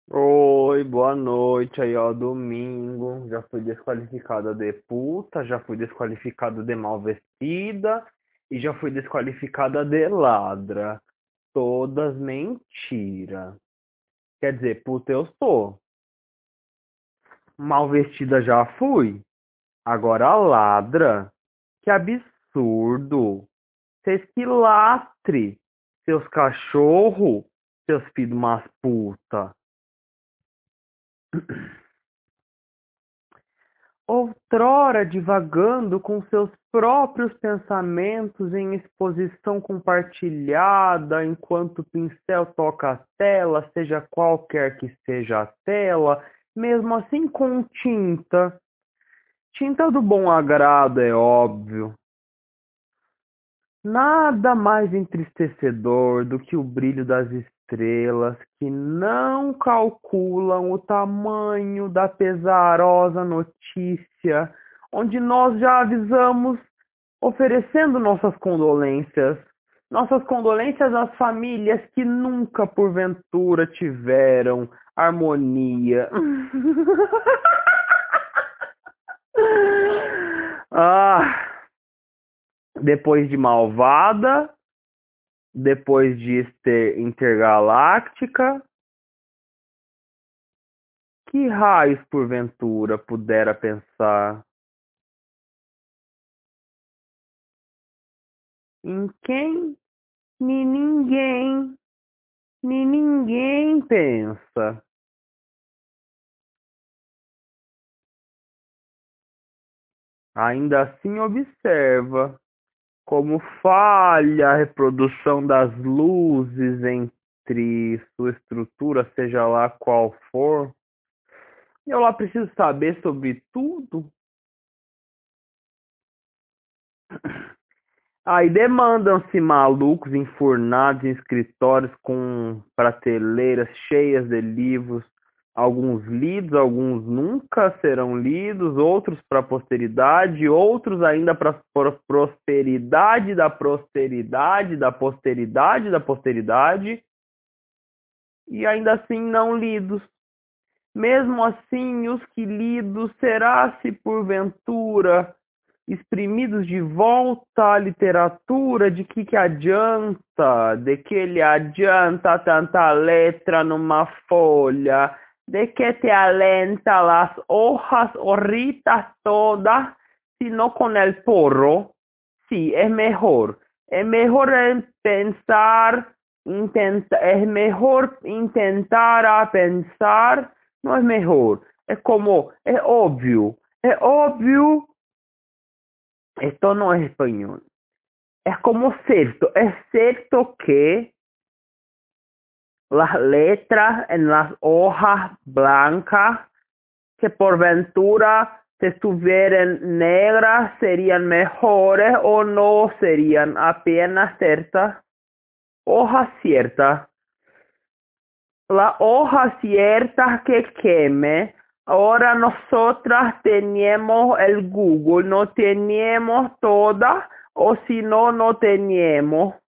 Oi, boa noite. Aí, ó, domingo. Já fui desqualificada de puta, já fui desqualificada de mal vestida e já fui desqualificada de ladra. Todas mentira. Quer dizer, puta eu sou. Mal vestida já fui. Agora ladra. Que absurdo. Vocês que lastre. Seus cachorro, seus filhos de umas puta. Outrora divagando com seus próprios pensamentos em exposição compartilhada, enquanto o pincel toca a tela, seja qualquer que seja a tela, mesmo assim com tinta. Tinta do bom agrado, é óbvio. Nada mais entristecedor do que o brilho das estrelas que não calculam o tamanho da pesarosa notícia, onde nós já avisamos, oferecendo nossas condolências às famílias que nunca porventura tiveram harmonia. Ah, depois de Malvada, depois de Intergaláctica, que raios porventura pudera pensar? Em quem nem ninguém pensa. Ainda assim observa como falha a reprodução das luzes entre sua estrutura, seja lá qual for. Eu lá preciso saber sobre tudo. Aí demandam-se malucos enfurnados em escritórios com prateleiras cheias de livros, alguns lidos, alguns nunca serão lidos, outros para a posteridade, outros ainda para a prosperidade da posteridade, da posteridade da posteridade, e ainda assim não lidos. Mesmo assim, os que lidos será se porventura exprimidos de volta à literatura, de que adianta? De que lhe adianta tanta letra numa folha? De que te alenta las hojas horritas todas, sino con el porro? Sí, es mejor. Es mejor pensar, es mejor intentar a pensar, no es mejor. Es como, es obvio esto no es español. Es como cierto, es cierto que las letras en las hojas blancas, que por ventura si estuvieran negras, serían mejores o no serían apenas ciertas. Hojas ciertas. La hoja cierta que queme. Ahora nosotras tenemos el Google, no tenemos todas, o si no, no teníamos.